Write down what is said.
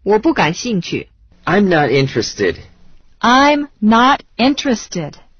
我不感兴趣。 I'm not interested. I'm not interested.